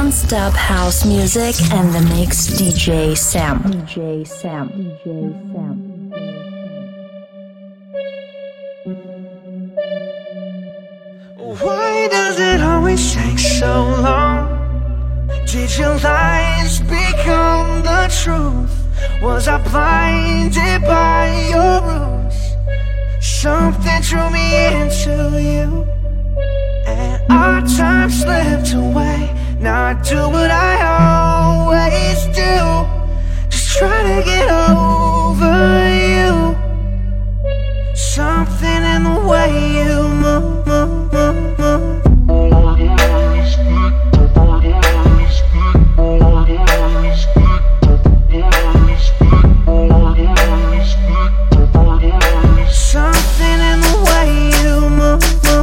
non-stop house music and the mix DJ Sam. DJ Sam. DJ Sam. Why does it always take so long? Did your lies become the truth? Was I blinded by your rules? Something drew me into you, and our time slipped away. Now I do what I always do, just try to get over you. Something in the way you move. Something in the way you move.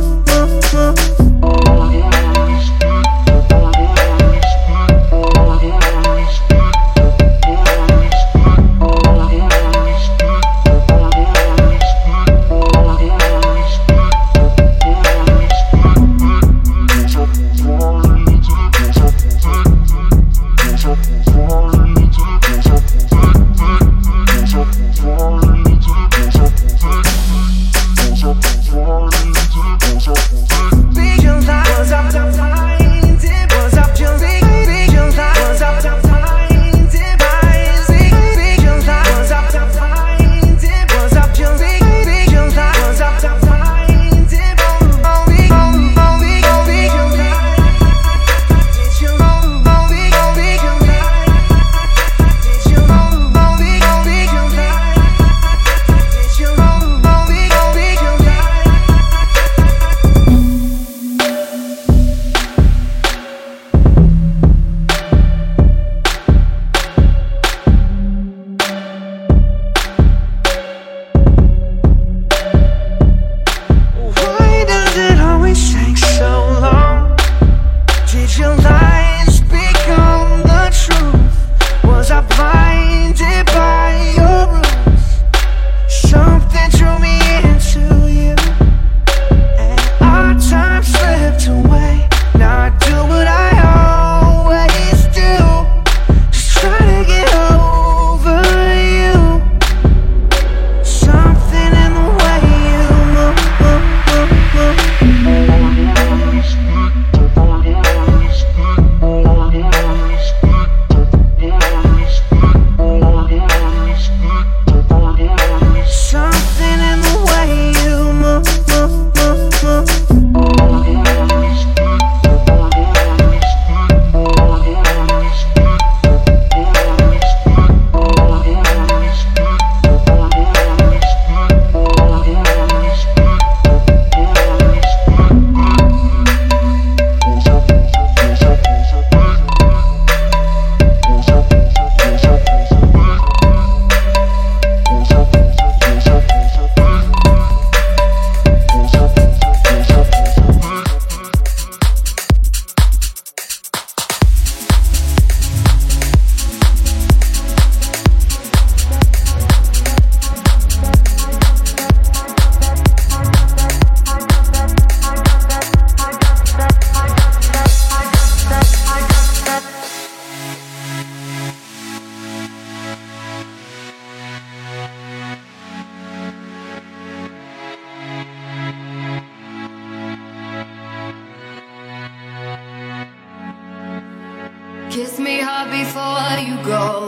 Kiss me hard before you go.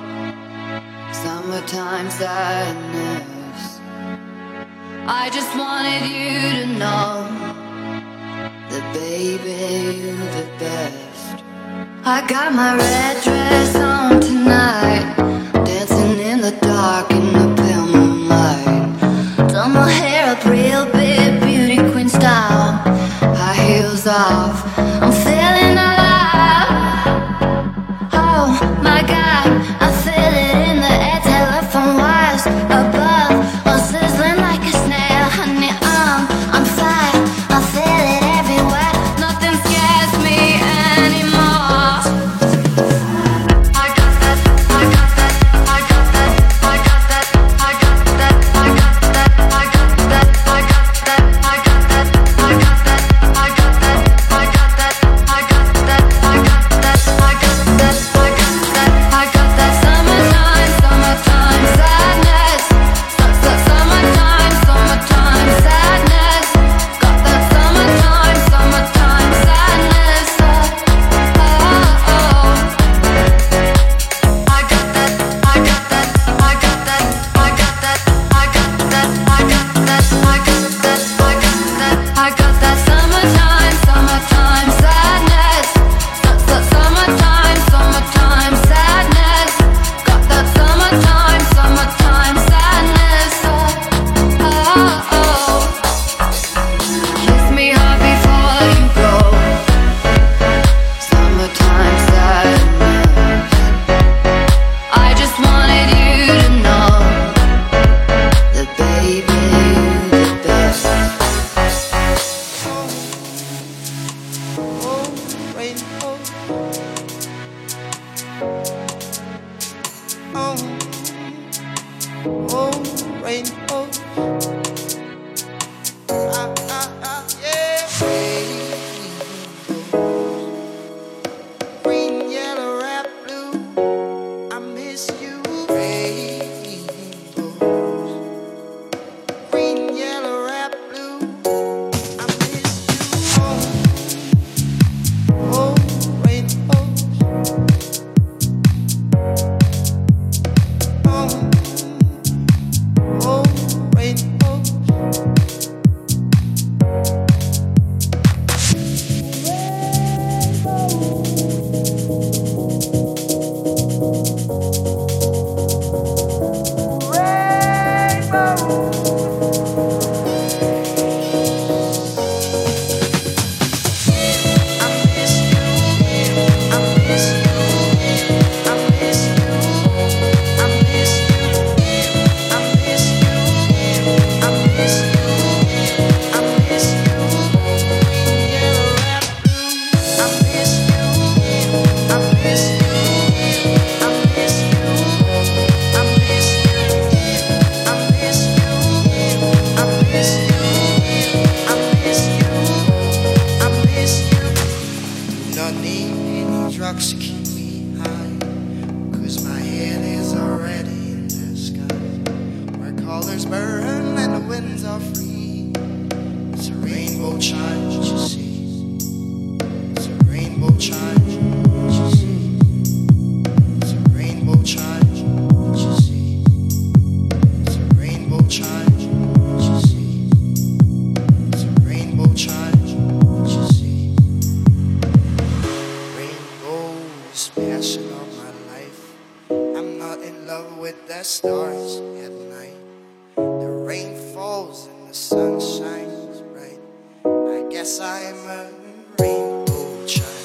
Summertime sadness. I just wanted you to know that, baby, you're the best. I got my red dress on tonight, dancing in the dark in the pale moonlight. Done my hair up real big, beauty queen style. High heels off, I'm feeling alive. Oh my God, I feel it in the air. Telephone wires above, I'm sizzling like a snail. Honey, I'm fire, I feel it everywhere. Nothing scares me anymore. I got that, I got that, I got that, I got need any drugs to keep me high, 'cause my head is already in the sky, where colors burn and the winds are free. It's a rainbow chime, you see. It's a rainbow chime, you see. It's a rainbow chime, you see. It's a rainbow chime, you see. It's a rainbow chime, you see. Rainbows passing on my life. I'm not in love with the stars at night. The rain falls and the sun shines bright. I guess I'm a rainbow chime.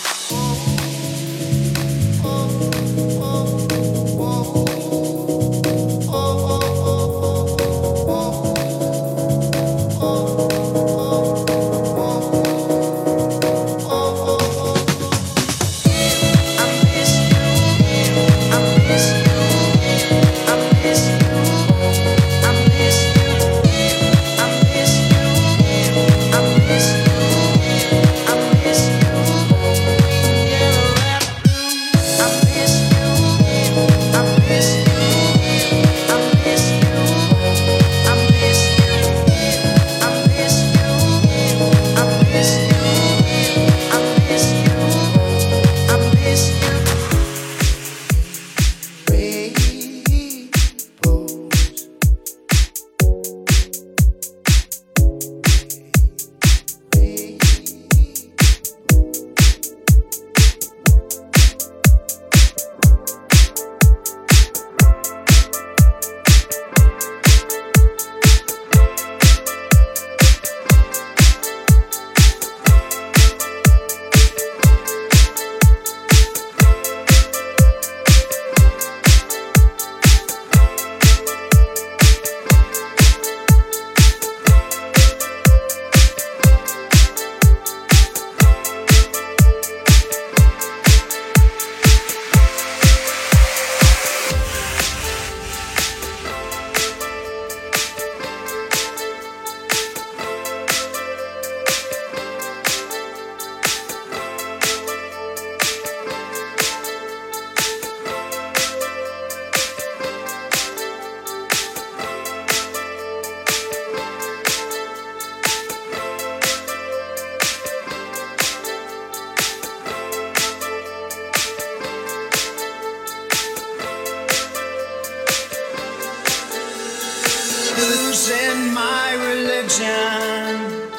Losing my religion,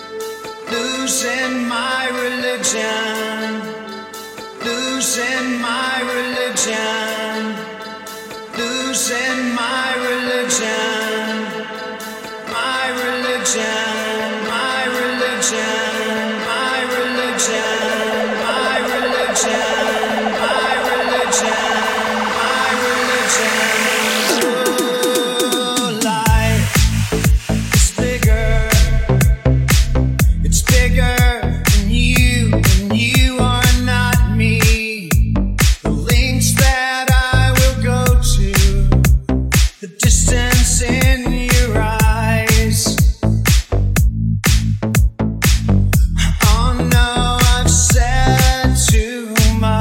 losing my religion, losing my religion, losing my religion, my religion, my religion, my religion, my religion, my religion, my religion. Oh no, I've said too much.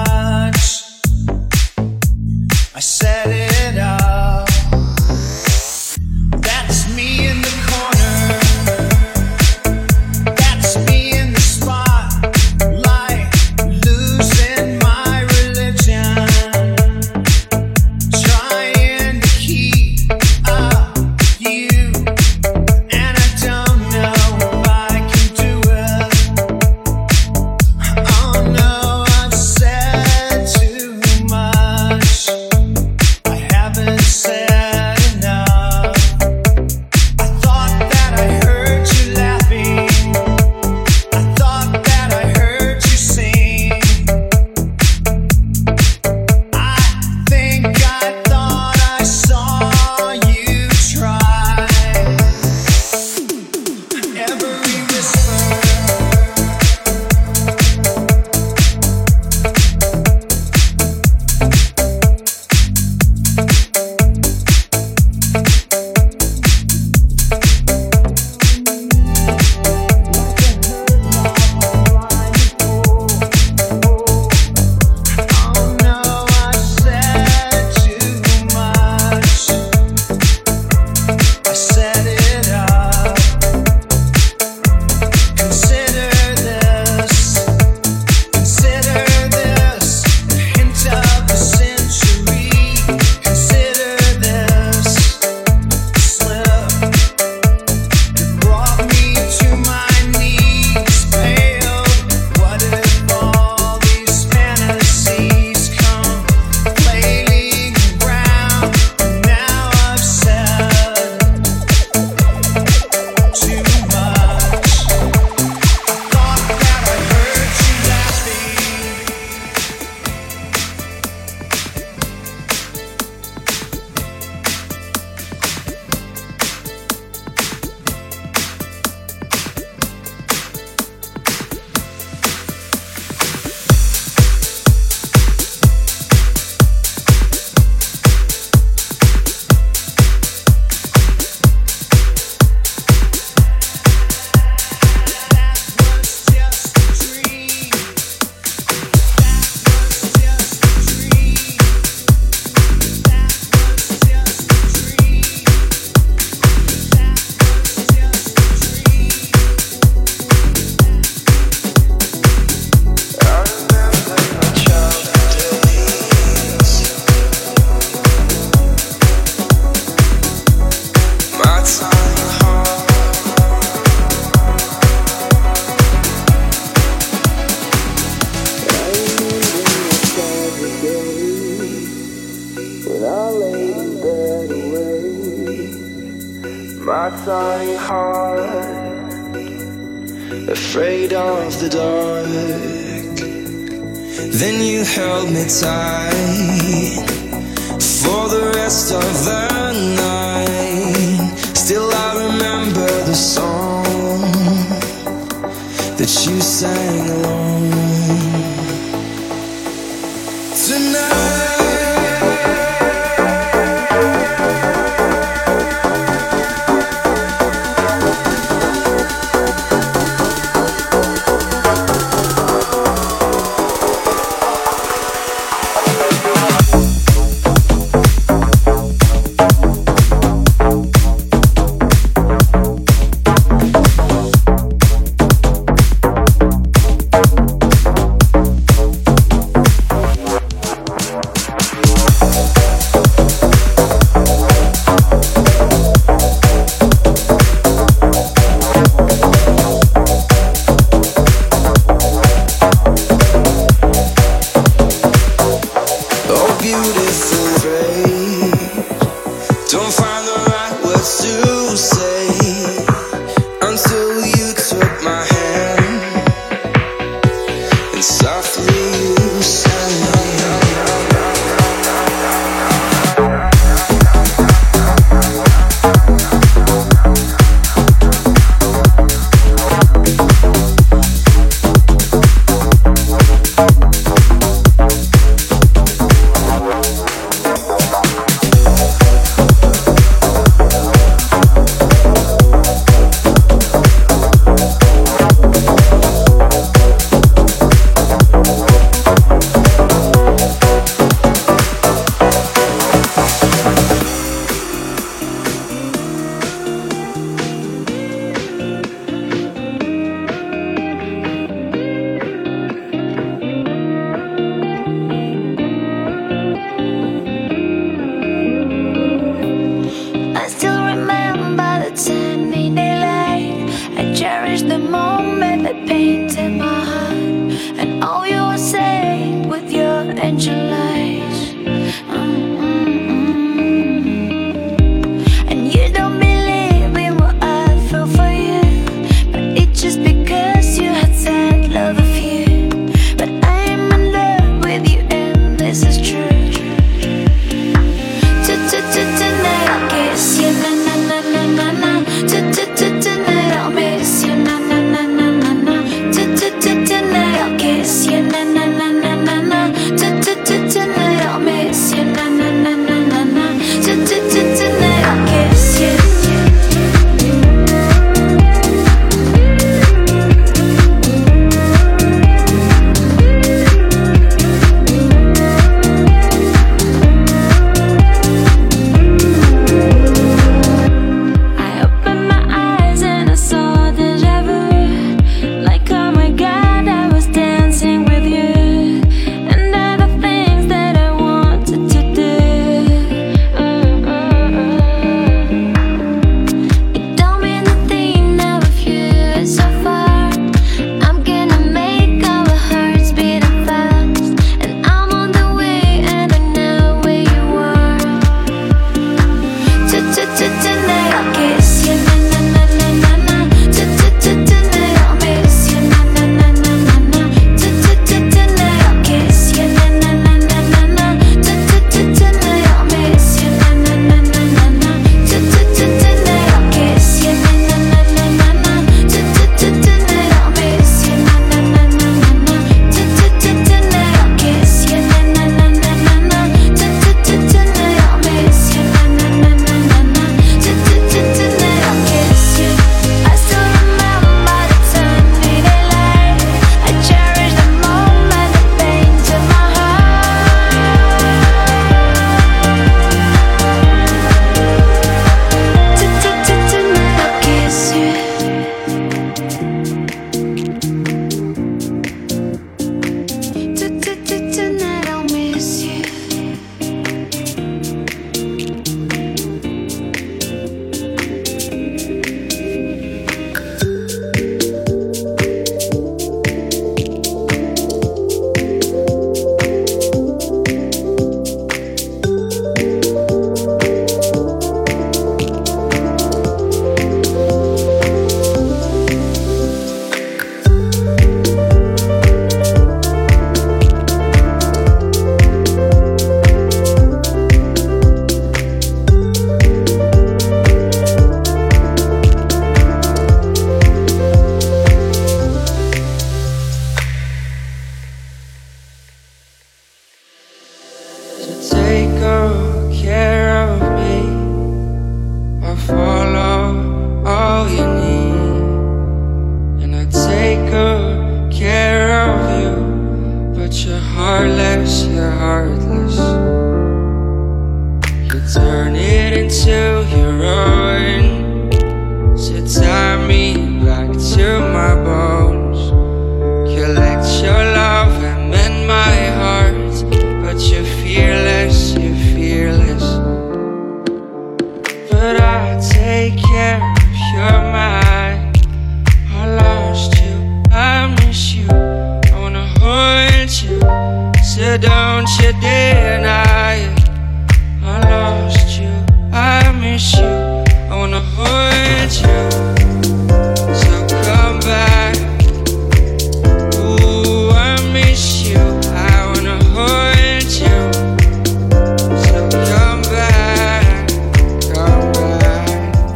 trying hard, afraid of the dark. Then you held me tight for the rest of the night. Still I remember the song that you sang alone. Tonight to take good care of me. I follow all you need, and I take good care of you. But you're heartless, you're heartless. You turn it into your own, so tie me back to my bones. Collect your love and mend my heart, but you're fearless, you're fearless. But I take care of your mind. I lost you, I miss you, I wanna hold you, so don't you deny it. I lost you, I miss you, I wanna hold you, so come back. Ooh, I miss you, I wanna hold you, so come back, come back.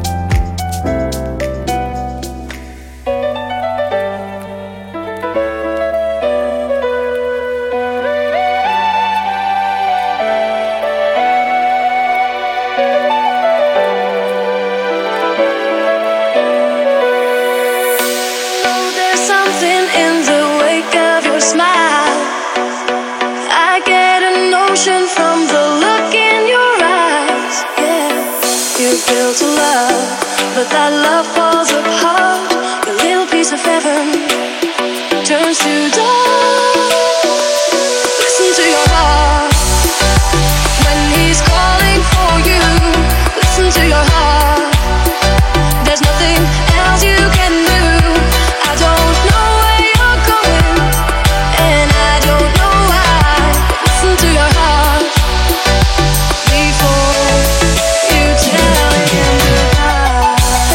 There's something in the wake of your smile. I get a notion from the look in your eyes. Yeah, you're built to love, but that love falls apart. Your little piece of heaven turns to dust. Listen to your heart when he's calling for you. Listen to your heart. There's nothing else you can do. I don't know where you're going, and I don't know why. Listen to your heart before you tell him goodbye.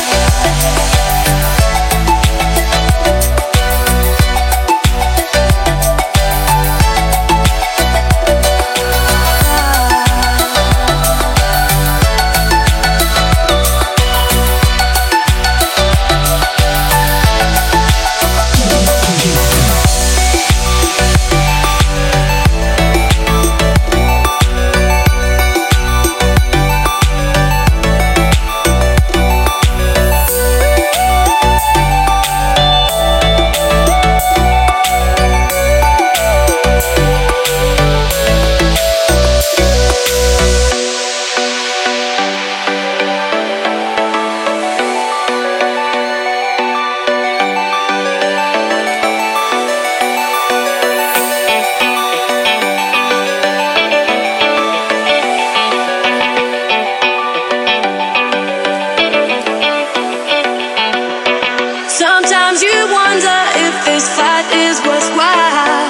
Sometimes you wonder if this fight is worthwhile.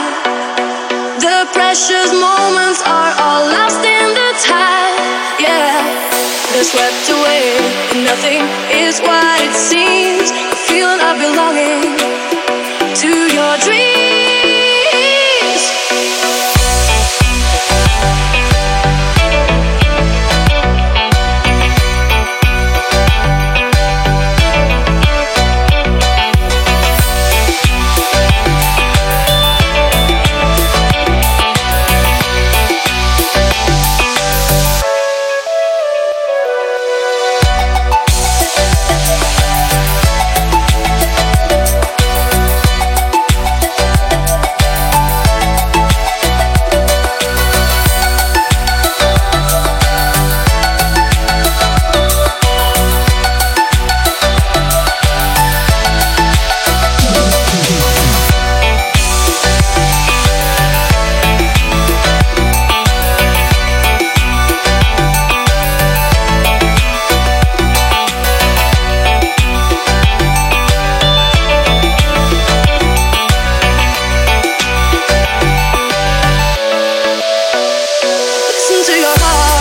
The precious moments are all lost in the tide. Yeah, they're swept away, and nothing is what it seems. The feeling of belonging to your dreams. Listen to your heart.